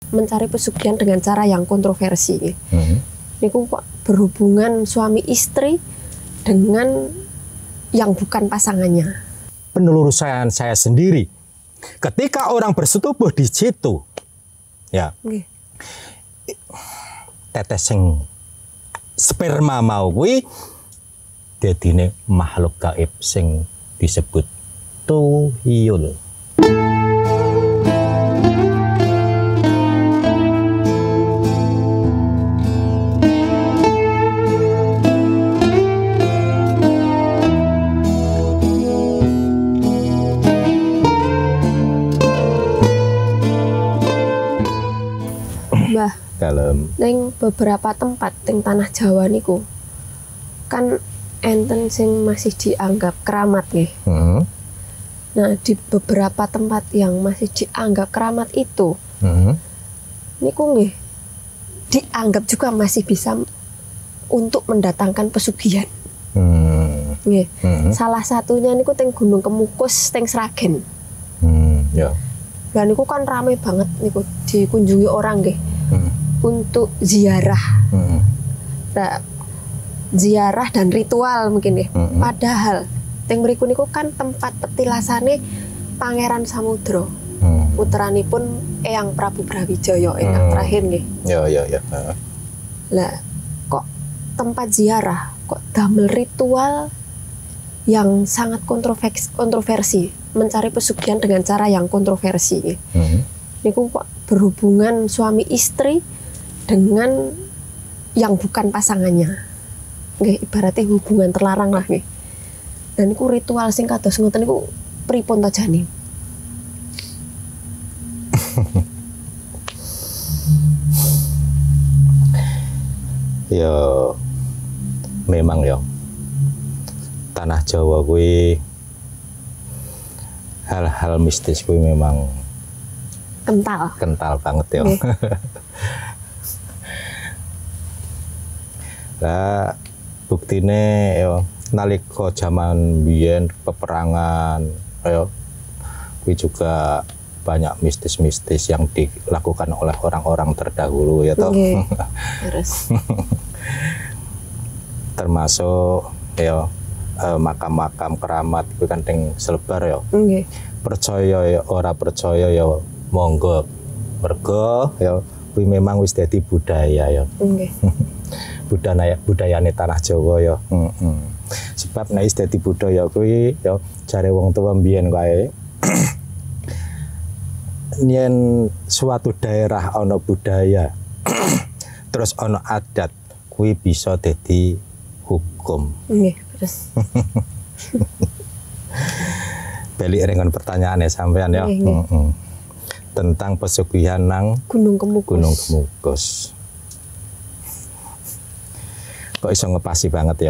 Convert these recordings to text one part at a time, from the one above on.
mencari pesugihan dengan cara yang kontroversi. Niku kok berhubungan suami istri dengan yang bukan pasangannya. Penelusuran saya sendiri, ketika orang bersetubuh di situ, ya, tetes sing sperma mau kuwi dadine makhluk gaib sing disebut tuyul. Mbah, Dalam ning beberapa tempat ning tanah Jawa niku kan enten sing masih dianggap keramat nggih. Nah, di beberapa tempat yang masih dianggap keramat itu, niku nggih dianggap juga masih bisa untuk mendatangkan pesugihan. Nggih. Salah satunya niku teng Gunung Kemukus teng Sragen. Ya. Lah niku kan rame banget niku dikunjungi orang nggih. Untuk ziarah. Nah, ziarah dan ritual mungkin ya. Padahal teng mriku niku kan tempat petilasane Pangeran Samudra. Puteranipun Eyang Prabu Brawijaya ingkang terakhir nggih. Ya. Lah kok tempat ziarah kok damel ritual yang sangat kontroversi, mencari pesugihan dengan cara yang kontroversi. Niku kok berhubungan suami istri dengan yang bukan pasangannya. Nggih, ibaratnya hubungan terlarang lah nggih. Dan niku ritual sing kados ngoten niku pripun ta jane? Ya memang ya tanah Jawa kuwi hal-hal mistis kuwi memang kental banget ya. Lah buktine ya nalika zaman biyen peperangan ya kuwi juga banyak mistis-mistis yang dilakukan oleh orang-orang terdahulu ya toh. Terus termasuk ya makam-makam keramat itu kan ting selebar ya. Percaya ya ora percaya ya monggo. Mergo ya kuwi memang wis dadi budaya ya. Budayane tanah Jawa ya. Sebab nek wis dadi budaya kuwi ya jare wong tua mbiyen kae yen suatu daerah ana budaya terus ana adat kuwi bisa dadi hukum. Terus balik dengan pertanyaannya sampean ya. Tentang pesugihan nang Gunung Kemukus. Kok iso ngepasi banget ya.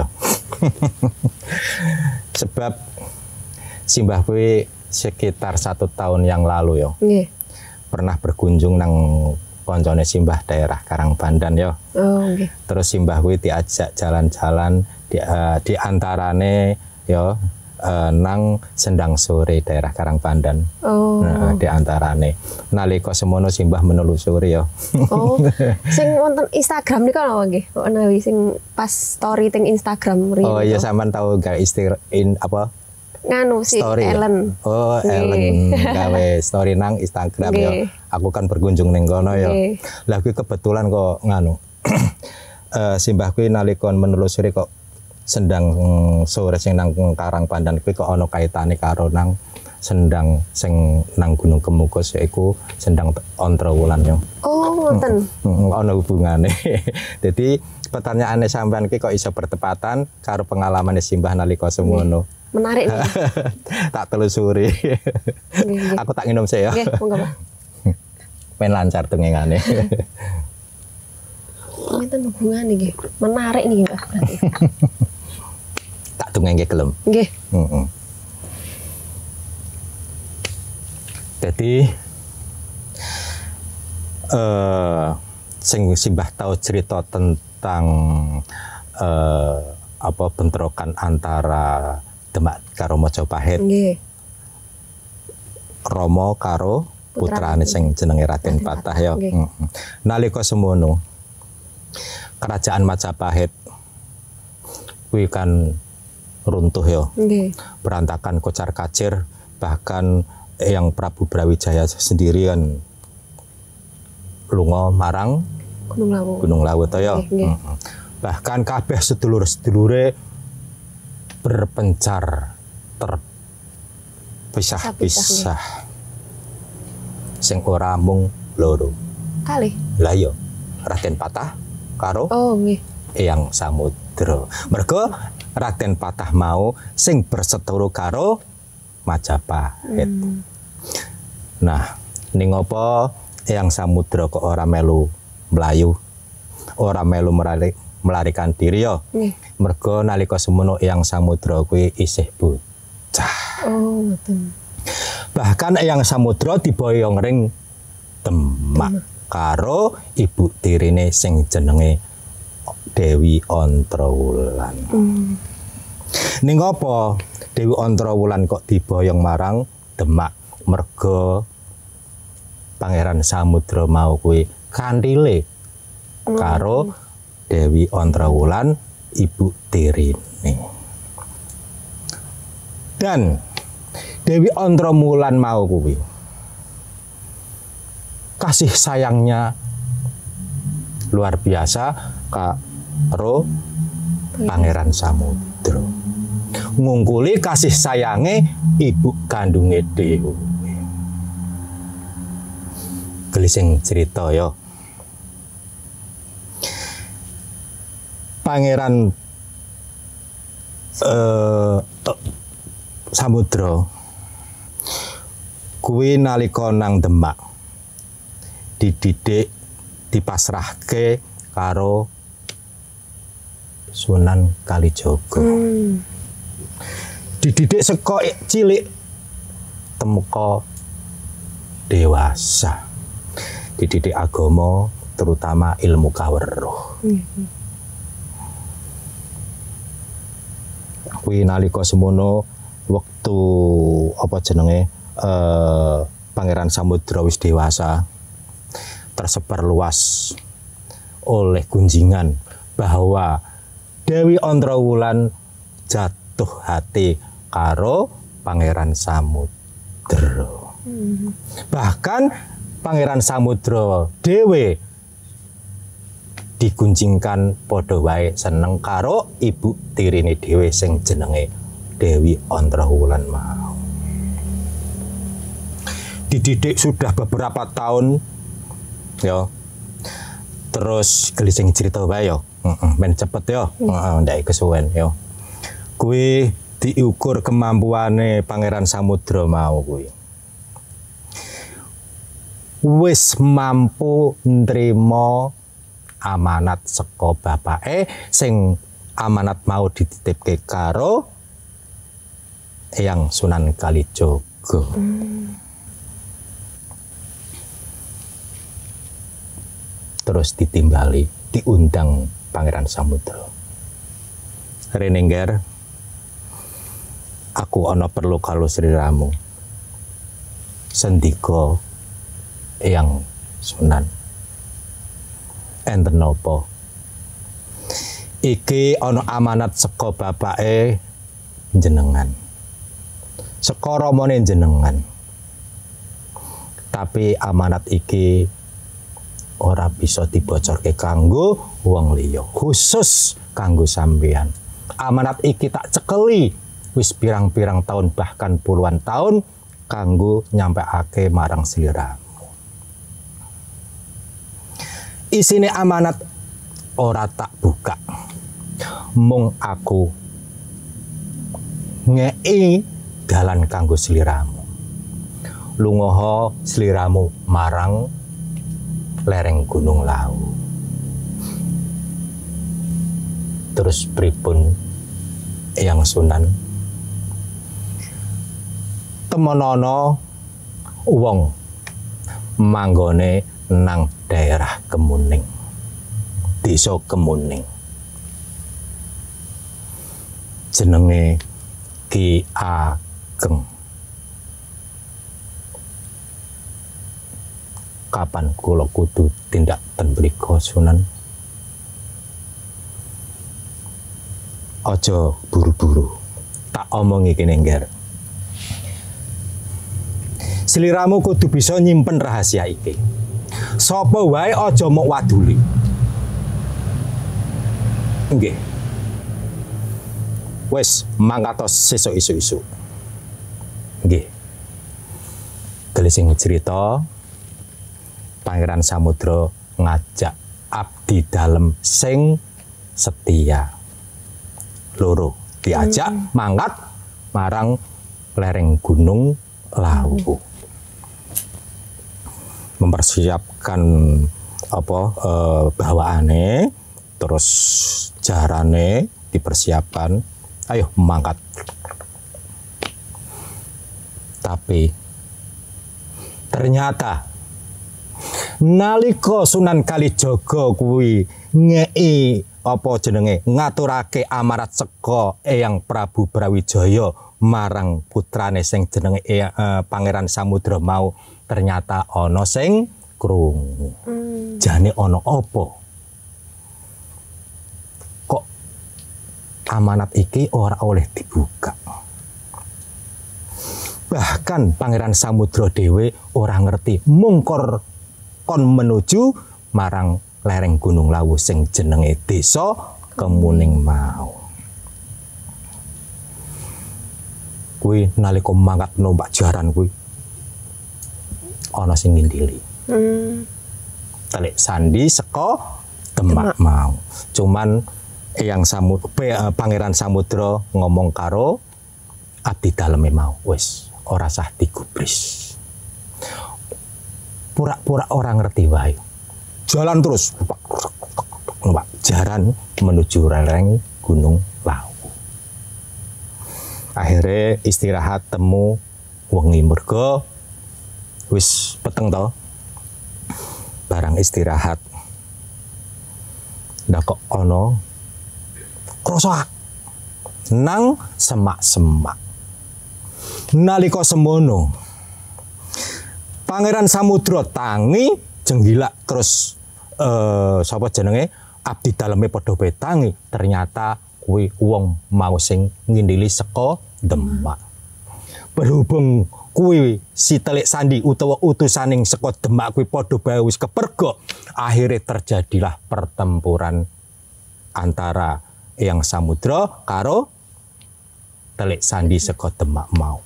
Sebab simbah kuwi sekitar 1 tahun yang lalu ya. Pernah berkunjung nang koncone simbah daerah Karangpandan ya. Terus simbah kuwi diajak jalan-jalan di antarane ya nang Sendang Sore daerah Karangpandan. Nah, di antarane nalika semono simbah menelusuri ya. Sing wonten Instagram niku lho nggih. Kok nawi sing pas story teng Instagram riyen. Oh iya sampean tahu gak apa? Nganu si story, Ellen. Ya? Ellen gawe story nang Instagram ya. Aku kan berkunjung ning kono ya. Lah kuwi kebetulan kok nganu. Simbah kuwi nalika menelusuri kok Sendang Sore sing nang Karangpandan kuwi kok ana kaitane karo nang Sendang sing nang Gunung Kemukus yaiku Sendang Ontrawulan ya. Ngoten. Ana hubungane. Jadi pertanyaane sampean ki kok iso bertepatan karo pengalamane simbah nalika semono. Menarik nih. Tak telusuri. Aku tak nginum sih ya. Monggo, Pak. Men lancar dengengane. Ngeten hubungane nggih. Menarik nih, Mbak. Tak dongeng gelem. Nggih. Jadi sing simbah tahu cerita tentang apa bentrokan antara Demak karo Mojopahit. Nggih. Romo karo putrane sing jenenge Raden Patah ya. Nalika semono kerajaan Majapahit kuwi kan runtuh ya. Berantakan kocar-kacir, bahkan yang Prabu Brawijaya sendiri kan lunga marang Gunung Lawu to ya. Bahkan kabeh sedulur-sedulure berpencar terpisah-pisah. Sing ora mung loro. Kalih. Lah iya, Raden Patah karo Eyang Samudra. Mergo Raden Patah mau sing berseteru karo Majapahit. Nah, ning apa Eyang Samudra kok ora melu mlayu, ora melu melarikan diri ya. Mergo nalika semono Eyang Samudra kuwi isih bocah. Bahkan Eyang Samudra diboyong ring Demak karo ibu tirine sing jenenge Dewi Ontrawulan. Ning apa Dewi Ontrawulan kok diboyong marang Demak? Mergo Pangeran Samudra mau kuwi kandhile karo Dewi Ontrawulan ibu tirine. Dan Dewi Ontrawulan mau kuwi kasih sayangnya luar biasa karo Pangeran Samudra. Ngungkuli kasih sayange ibu kandunge Dewi. Gelising cerita ya. Pangeran Samudra kuwi nalika nang Demak dididik dipasrahke karo Sunan Kalijaga. Dididik saka cilik temeka dewasa. Dididik agama terutama ilmu kaweruh. Kuwi nalika semono wektu apa jenenge Pangeran Samudra wis dewasa, tersebar luas oleh gunjingan bahwa Dewi Ontrawulan jatuh hati karo Pangeran Samudra. Bahkan Pangeran Samudra dhewe digunjingkan padha wae seneng karo ibu tirine dhewe sing jenenge Dewi Ontrawulan mau. Dididik sudah beberapa tahun ya. Terus gelising cerita wae ya. Men cepet ya. Ndak kesuwen ya. Kuwi diukur kemampuane Pangeran Samudra mau kuwi. Wis mampu nrimo amanat saka bapake sing amanat mau dititipke karo Eyang Sunan Kalijaga. Terus ditimbali, diundang Pangeran Samudra. Renengger, aku ana perlu karo sliramu. Sendika Eyang Sunan. Enten napa? Iki ana amanat saka bapake jenengan. Saka ramane jenengan. Tapi amanat iki ora bisa dibocorke kanggo wong liya, khusus kanggo sampeyan. Amanat iki tak cekeli wis pirang-pirang tahun bahkan puluhan tahun kanggo nyampekake marang sliramu. Isine amanat ora tak buka. Mung aku ngei dalan kanggo sliramu. Lungaha sliramu marang lereng Gunung Lawu. Terus pripun Eyang Sunan? Temonono wong manggone nang daerah Kemuning, desa Kemuning. Jenenge Ki Ageng. kapan kula kudu tindak ten mriku Sunan? Aja buru-buru. Tak omongi kene ngger. Sliramu kudu bisa nyimpen rahasia iki. Sapa wae aja mok waduli. Nggih. Wes mangkatos sesuk isu-isu. Nggih. Gelising cerita Pangeran Samudra ngajak abdi dalem sing setia. Loro diajak mangkat marang lereng Gunung Lawu. Mempersiapkan apa bawaane, terus jarane dipersiapkan. Ayo mangkat. Tapi ternyata nalika Sunan Kalijaga kuwi ngei apa jenenge ngaturake amarat seka Eyang Prabu Brawijaya marang putrane sing jenenge Pangeran Samudra mau, ternyata ana sing krungu. Jane ana apa? Kok amanat iki ora oleh dibuka? Bahkan Pangeran Samudra dhewe ora ngerti mungkor kon menuju marang lereng Gunung Lawu sing jenenge Desa Kemuning mau. Kuwi nalika mangkat numpak jaran kuwi ana sing ngindili. Telik sandi saka Demak mau. Cuman Pangeran Samudra ngomong karo abdi daleme mau, wis ora sah digubris. Pura-pura orang ngerti wae. Jalan terus, numpak jaran menuju lereng Gunung Lawu. Akhirnya istirahat temu wengi mergo wis peteng to. Barang istirahat ndak kok ana krasa nang semak-semak. Nalika semono Pangeran Samudra tangi jenggilak terus sapa jenenge abdi daleme padha bae tangi, ternyata kuwi wong mau sing ngindili saka Demak. Berhubung kuwi si Telik Sandi utawa utusaning saka Demak kuwi padha bae wis kepergok, akhirnya terjadilah pertempuran antara Eyang Samudra karo Telik Sandi saka Demak mau.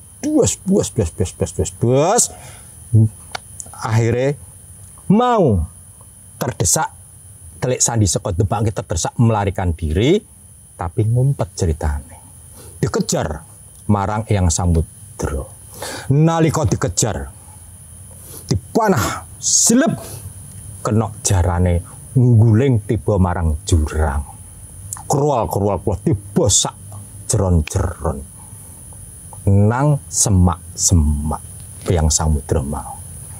Bus. Akhirnya mau terdesak Telik Sandi saka Demak kita terdesak melarikan diri, tapi ngumpet ceritane. Dikejar marang Eyang Samudra. Nalika dikejar dipanah silep kena jarane ngguling tiba marang jurang. Krual tiba sak jeron-jeron nang semak-semak Eyang Samudra mau.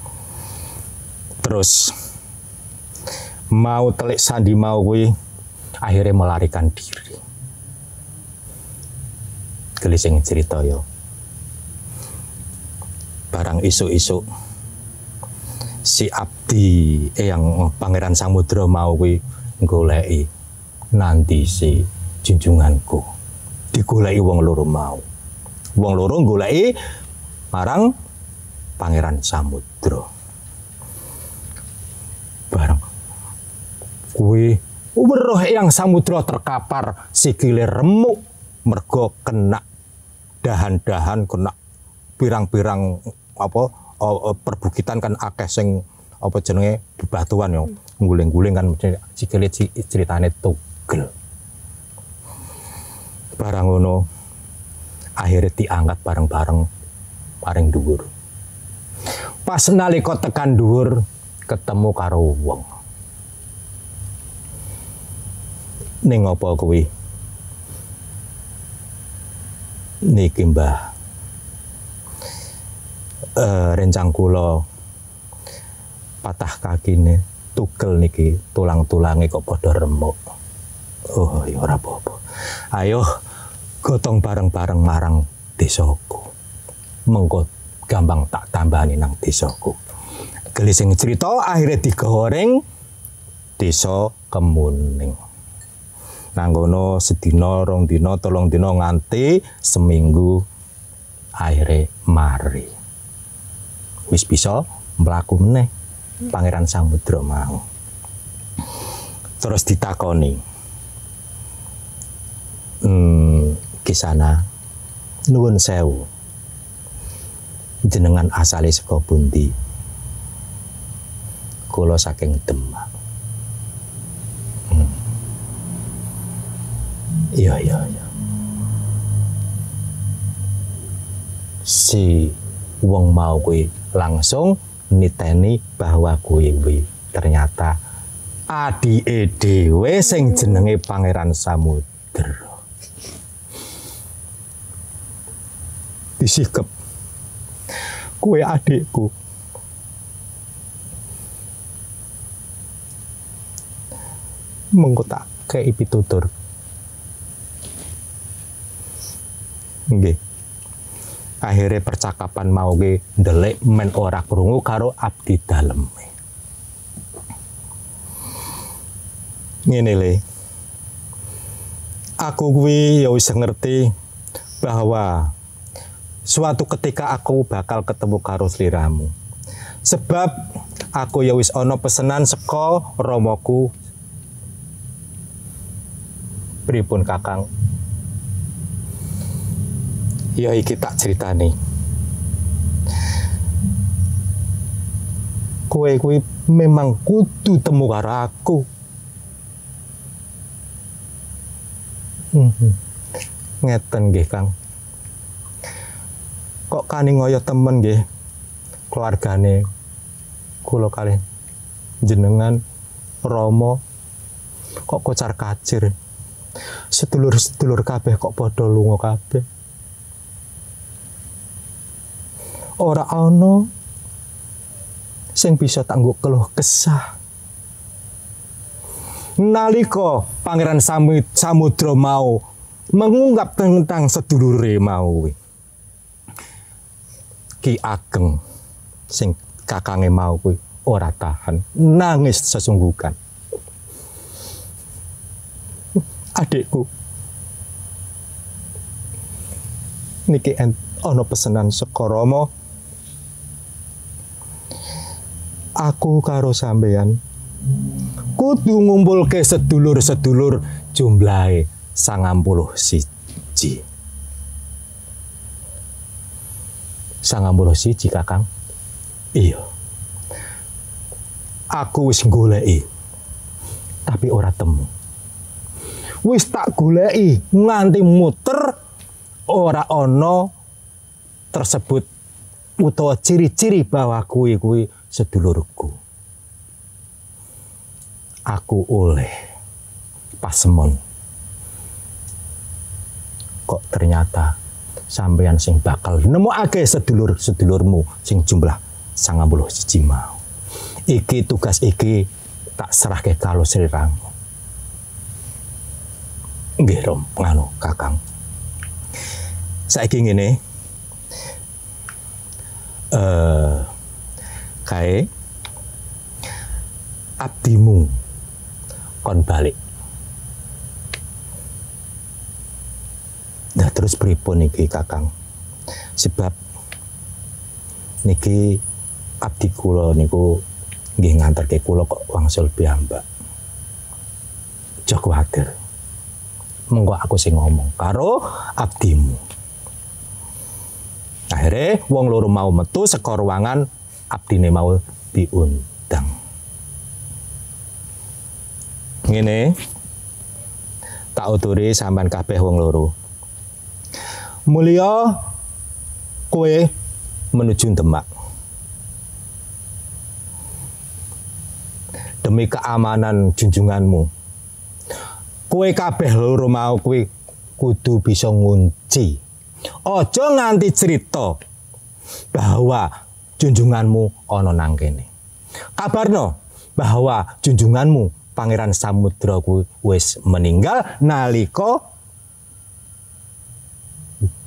Terus mau Telik Sandi mau kuwi akhirnya melarikan diri. Gelising cerita yo. Barang isuk-isuk si abdi Eyang Pangeran Samudra mau kuwi goleki nanti si junjunganku. Digoleki wong loro mau. Wong loro goleki marang Pangeran Samudra. Barang kuwi weruh Eyang Samudra terkapar sikile remuk mergo kena dahan-dahan, kena pirang-pirang apa perbukitan kan akeh sing apa jenenge bebatuan yo nguling-nguling kan sikile ceritane tugel. Barang ngono akhirnya diangkat bareng-bareng paring dhuwur. Pas nalika tekan dhuwur ketemu karo wong. Ning apa kuwi? Niki Mbah. Rencang kula patah kakine tugel niki, tulang-tulange kok padha remuk. Oh ya ora apa-apa. Ayo gotong bareng-bareng marang desaku. Mengko gampang tak tambani nang desaku. gelising cerita akhirnya digoreng desa Kemuning. Nanggono sedina, rong dina, tolong dina nganti seminggu akhirnya mari. Wis bisa mlaku meneh Pangeran Samudra mau. Terus ditakoni. Kisana nuwun sewu. Jenengan asale saka pundi? Kula saking Demak. Iya. Si wong mau kuwi langsung niteni bahwa kuwi ternyata adike dhewe sing jenenge Pangeran Samudra. Disikep. Kuwi adikku. Mengko tak kei pitutur. Nggih. Akhirnya percakapan mau ge ndelik men ora krungu karo abdi daleme. Ngene le. Aku kuwi ya wis ngerti bahwa suatu ketika aku bakal ketemu karo sliramu. Sebab aku ya wis ana pesenan saka Ramaku. Pripun Kakang? Ya iki tak critani. Kowe kuwi memang kudu temu karo aku. Ngeten nggih, Kang. Kok kani ngoyo temen nggih keluargane kula kalih jenengan Rama kok kocar kacir. Sedulur-sedulur kabeh kok padha lunga kabeh. Ora ana sing bisa tangguh keluh kesah. Nalika Pangeran Samudra mau mengungkap tentang sedulure mau Ki Ageng sing kakange mau kuwi ora tahan nangis sesungguhkan. Adikku niki ana pesenan saka Rama. Aku karo sampeyan kudu ngumpulke sedulur-sedulur jumlahe 91. 91 Kakang. Iya. Aku wis goleki tapi ora temu. Wis tak goleki nganti muter ora ana tersebut utawa ciri-ciri bahwa kuwi sedulurku. Aku oleh pasemon. Kok ternyata sampeyan sing bakal nemokake sedulur-sedulurmu sing jumlah 91 mau. Iki tugas iki tak serahke karo sliramu. Nggih, Rom, nganu Kakang. Saiki ngene. Kae abdimu kon balik. Nah terus pripun niki Kakang? Sebab niki abdi kula niku nggih nganterke kula kok wangsul piyambak. Aja kuwatir. Monggo aku sing ngomong karo abdimu. Akhirnya wong loro mau metu saka ruangan abdine mau diundang. Ngene tak uturi sampean kabeh wong loro. Mulya kowe menuju Demak. Demi keamanan junjunganmu. Kowe kabeh loro mau kowe kudu bisa ngunci. Aja nganti cerita bahwa junjunganmu ana nang kene. Kabarno bahwa junjunganmu Pangeran Samudra kuwi wis meninggal nalika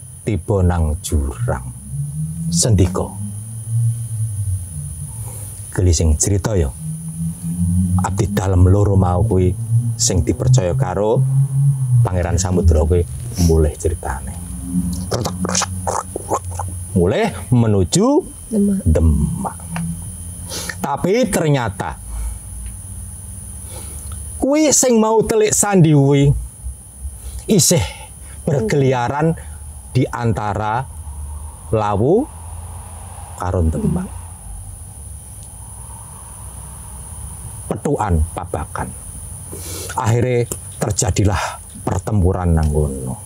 tiba nang jurang. Sendika. Gelising cerita ya. Abdi dalem loro mau kuwi sing dipercaya karo Pangeran Samudra kuwi mulai ceritane. Mulai menuju Demak. Tapi ternyata kuwi sing mau telik sandi kuwi isih berkeliaran di antara Lawu karo Demak. Petukan pabakan. Akhirnya terjadilah pertempuran nang kono.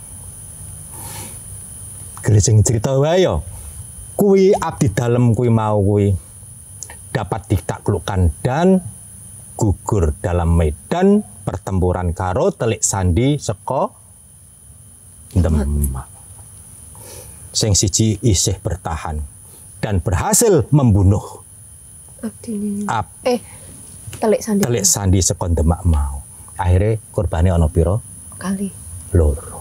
Gelising cerita wae ya. Kuwi abdi dalem kuwi mau kuwi dapat ditaklukkan dan gugur dalam medan pertempuran karo telik sandi saka Demak. Sing siji isih bertahan dan berhasil membunuh telik sandi saka Demak mau. Akhirnya korbane ana pira? Kali. Loro.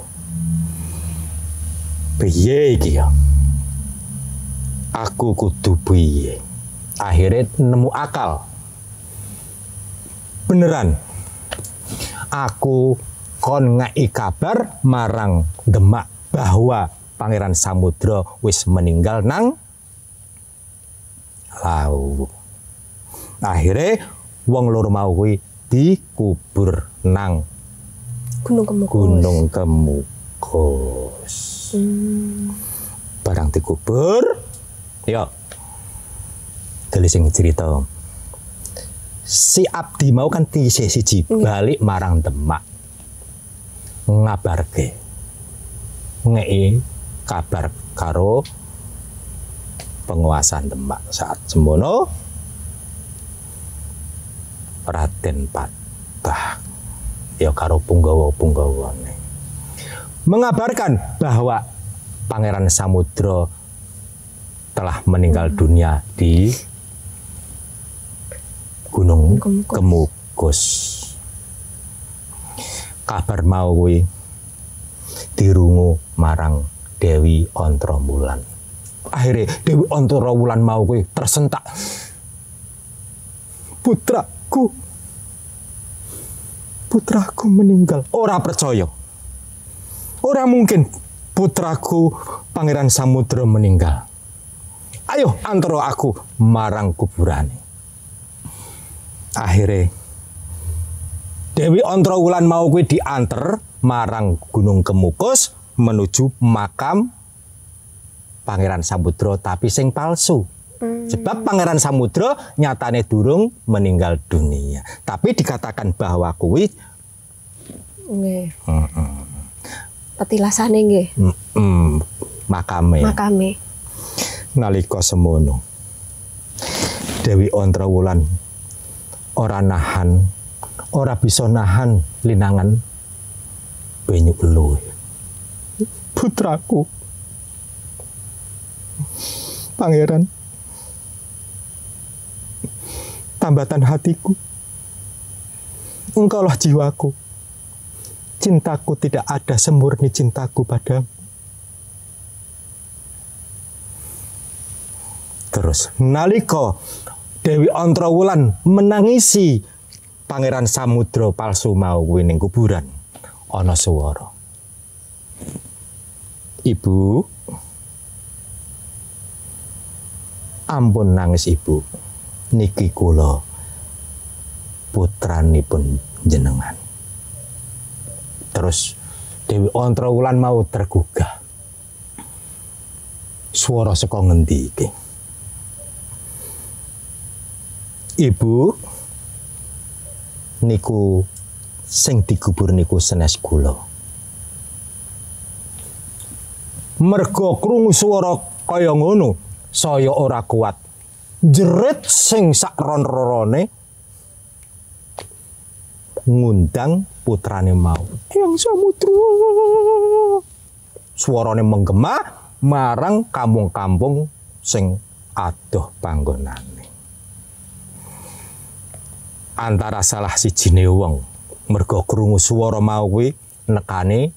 Piye iki ya? Aku kudu piye? Akhirnya nemu akal. Beneran. Aku kon ngai kabar marang Demak bahwa Pangeran Samudra wis meninggal nang Lawu. Akhirnya wong loro mau kuwi dikubur nang Gunung Kemukus. Barang dikubur, ya gelising cerita. Si abdi mau kan siji balik marang Demak. Ngabarke. Ngei kabar karo penguasa Demak saat semono Raden Patah ya karo punggawa-punggawane mengabarkan bahwa Pangeran Samudra telah meninggal dunia di Gunung Kemukus. Kabar mau kuwi dirungu marang Dewi Ontrowulan. Akhirnya Dewi Ontrowulan mau kuwi tersentak. Putraku meninggal. Ora percaya. Ora mungkin putraku Pangeran Samudra meninggal. Ayo antara aku marang kuburane. Akhirnya Dewi Ontrowulan mau kuwi dianter marang Gunung Kemukus menuju makam Pangeran Samudra tapi sing palsu. Sebab Pangeran Samudra nyatane durung meninggal dunia. Tapi dikatakan bahwa kuwi nggih. Petilasane nggih. Makame. Nalika semono Dewi Ontrowulan ora bisa nahan linangan banyu eluh. Putraku Pangeran, tambatan hatiku, engkaulah jiwaku. Cintaku tidak ada semurni cintaku padamu. Terus nalika Dewi Ontrowulan menangisi Pangeran Samudra palsu mau kuwi ning kuburan, ana swara. Ibu, ampun nangis ibu. Niki kula putranipun jenengan. Terus Dewi Ontrowulan mau tergugah. Swara saka ngendi iki? Ibu, niku sing dikubur niku senes kula. Merga krungu swara kaya ngono, saya ora kuat. Jerit sing sak ron-rorone ngundang putrane mau. Hyang Samudra. Suarane menggema marang kampung-kampung sing adoh panggonane. Antara salah sijine wong merga krungu swara mau kuwi nekane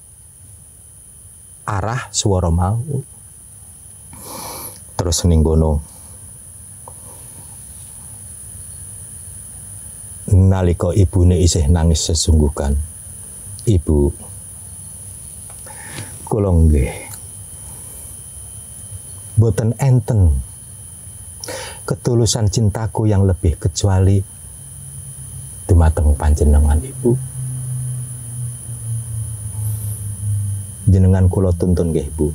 arah swara mau. Terus ning kono nalika ibune isih nangis sesungguhkan. Ibu, kula nggih boten enten ketulusan cintaku yang lebih kecuali dumateng panjenengan Ibu. Jenengan kula tuntun nggih Bu.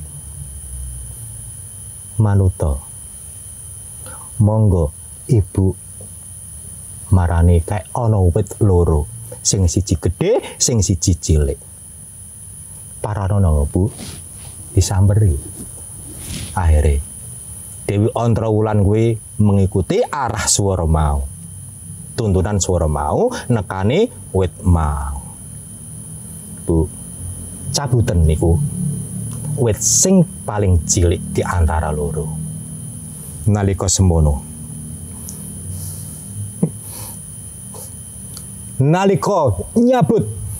Manuta monggo Ibu marani kayak ana wit loro, sing siji gedhe, sing siji cilik. Paranono Bu disamberi. Akhirnya Dewi Ontrawulan kuwi mengikuti arah swara mau. Tuntunan swara mau nekani wit mau. Bu, cabuten niku wit sing paling cilik di antara loro. Nalika semono, nalika nyabut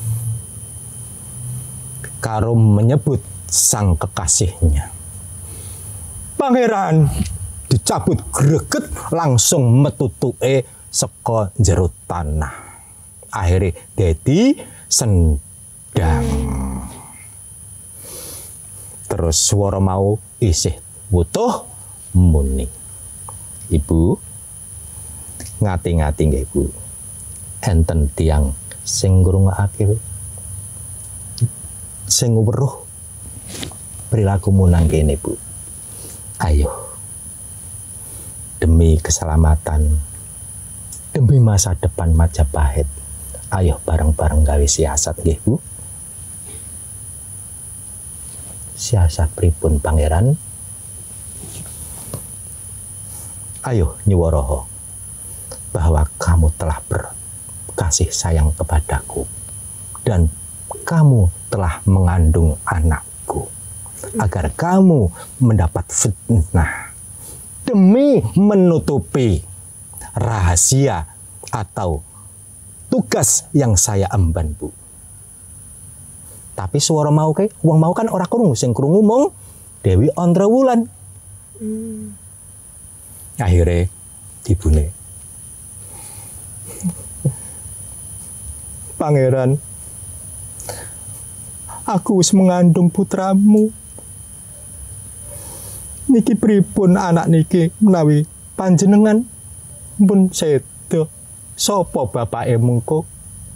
karo menyebut sang kekasihnya, pangeran dicabut greget langsung metutuke saka jero tanah. Akhirnya dadi sendang. Terus swara mau isih wutuh muni. Ibu ngati-ngati nggih Bu. Enten tiyang sing ngrungokake sing weruh perilakumu nang kene Bu. Ayo, demi keselamatan, demi masa depan Majapahit, ayo bareng-bareng gawe siasat nggih Bu. Siasat pripun pangeran? Ayo nyuwaraha bahwa kamu telah berkasih sayang kepadaku dan kamu telah mengandung anakku, agar kamu mendapat fitnah demi menutupi rahasia atau tugas yang saya emban Bu. Tapi suara mau kayak wong mau kan ora krungu, sing krungu mung Dewi Ontrawulan. Akhirnya ibune, pangeran, aku wis mengandung putramu. Niki pripun anak niki menawi panjenengan pun sedo, sapa bapake mengko?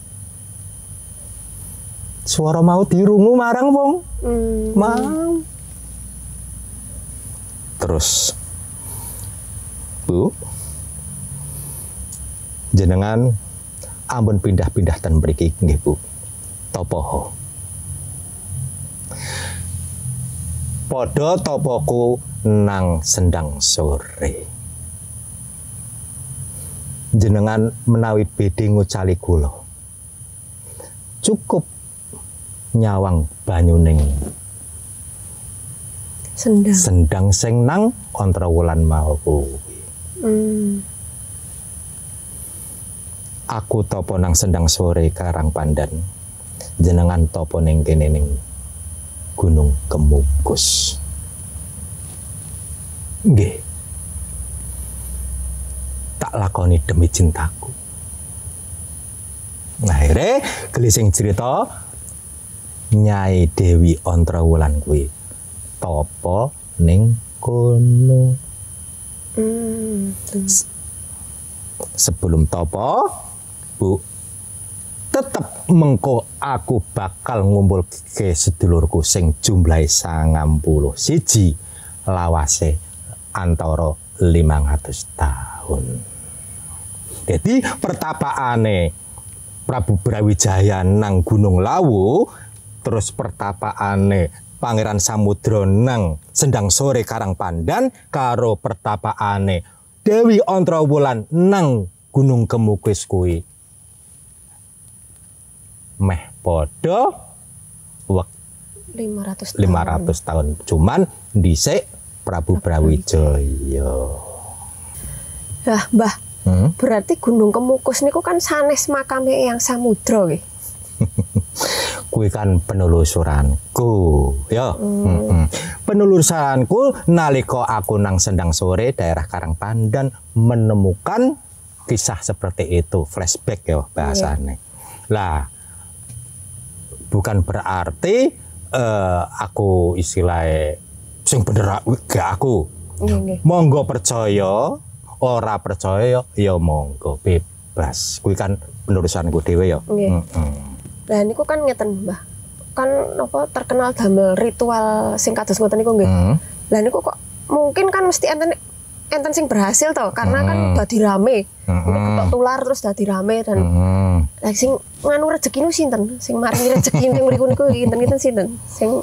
Suara mau dirungu marang wong. Mau. Terus Bu, jenengan ampun pindah-pindah ten mriki nggih Bu. Topoho. Padha topoku nang Sendang Sore. Jenengan menawi bedhe ngucali kula. Cukup nyawang banyuning sendang sing nang Ontrawulan mau kuwi. Aku topo nang Sendang Sore Karangpandan, jenengan topo ning kene ning Gunung Kemukus. Nggih, tak lakoni demi cintaku. Akhirnya gelising cerita Nyai Dewi Ontrawulan kuwi topo ning kono. Sebelum topo, Bu, tetep mengko aku bakal ngumpul ke sedulurku sing jumlahe 91 lawase antara 500 tahun. Jadi pertapaane Prabu Brawijaya nang Gunung Lawu, terus pertapaane Pangeran Samudra nang Sendang Sore Karangpandan, karo pertapaane Dewi Ontrawulan nang Gunung Kemukus kuwi meh padha 500 tahun. Cuman dhisik Prabu Brawijaya. Lah, Mbah. Berarti Gunung Kemukus niku kan sanes makame Eyang Samudra nggih. Kuwi kan penelusuranku, ya. Penelusuranku nalika aku nang Sendang Sore daerah Karangpandan menemukan kisah seperti itu, flashback ya bahasanya. Lah, bukan berarti aku istilahnya sing bener gak aku. Monggo percaya, ora percaya ya monggo bebas. Kuwi kan penerusanku dhewe ya. Lah niku kan ngeten, Mbah. Kan apa terkenal damel ritual sing kados ngoten niku nggih. Lah niku kok mungkin kan mesti enten sing berhasil toh karena kan dadi rame. Ketok tular terus dadi rame dan lah sing nganu rezeki nu sinten? Sing maringi rezeki ning mriku niku kinten-kinten sinten? Sing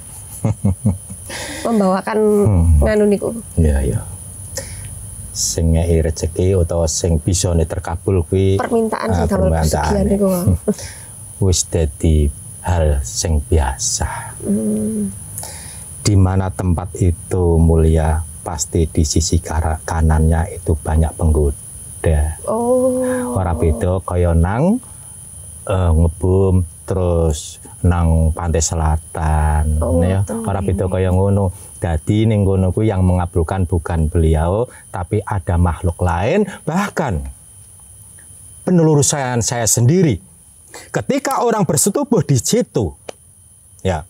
membawakan nganu niku. Iya. Sing ngei rezeki utawa sing bisa terkabul kuwi permintaan sing damel pesugihan niku. Wis dadi hal sing biasa. Di mana tempat itu mulia, pasti di sisi kanannya itu banyak penggoda. Ora beda kaya nang ngebum terus nang pantai selatan, ya. Ora beda kaya ngono. Dadi ning ngono kuwi yang mengabulkan bukan beliau, tapi ada makhluk lain, bahkan penelusuran saya sendiri. Ketika orang bersetubuh di situ, ya.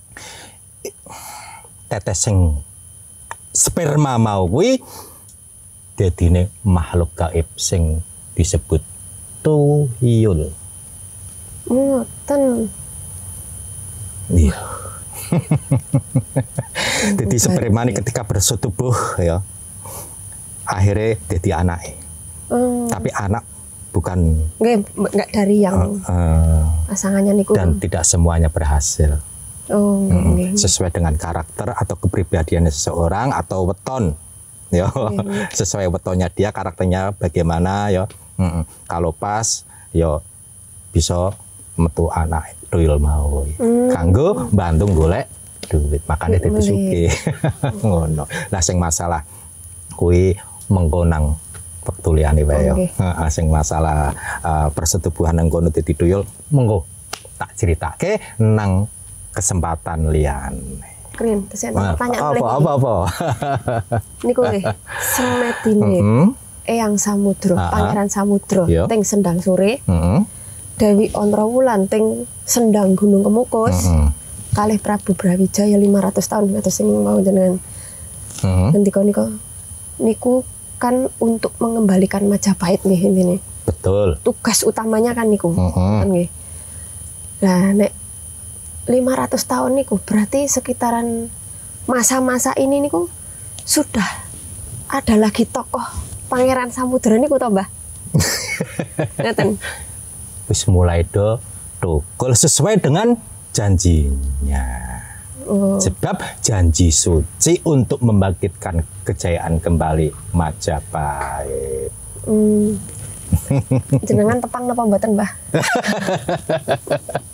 Tetes sing sperma mau kuwi dadine makhluk gaib sing disebut tuyul. Ngoten. Iya. Jadi sperma ini ketika bersetubuh ya akhirnya jadi anaknya. Tapi anak bukan enggak dari yang pasangannya niku. Dan tidak semuanya berhasil. Sesuai dengan karakter atau kepribadiannya seseorang atau weton ya. Sesuai wetonnya dia, karakternya bagaimana ya. Kalau pas ya bisa metu anak tuyul mau kanggo bantu golek duit, makanya dadi sugih. Ngono. Lah sing masalah kuwi mengko nang wektu liyane wae ya. Sing masalah persetubuhan nang kono dadi tuyul mengko tak ceritake nang kesempatan liyan. Keren, kesempatan pertanyaan apa? Niku nggih, semedine Eyang Samudra, Pangeran Samudra teng Sendang Sore. Dewi Ontrowulan teng Sendang Gunung Kemukus. Kalih Prabu Brawijaya 500 tahun atus sing mau jenengan. Ngendika niku kan untuk mengembalikan Majapahit nggih intine. Betul. Tugas utamanya kan niku. Kan nggih. Lah nek 500 tahun niku berarti sekitaran masa-masa ini niku sudah ada lagi tokoh Pangeran Samudra niku to, Mbah? Ngeten. Wis mulai tukul sesuai dengan janjinya. Sebab janji suci untuk membangkitkan kejayaan kembali Majapahit. Jenengan tepang napa mboten, Mbah?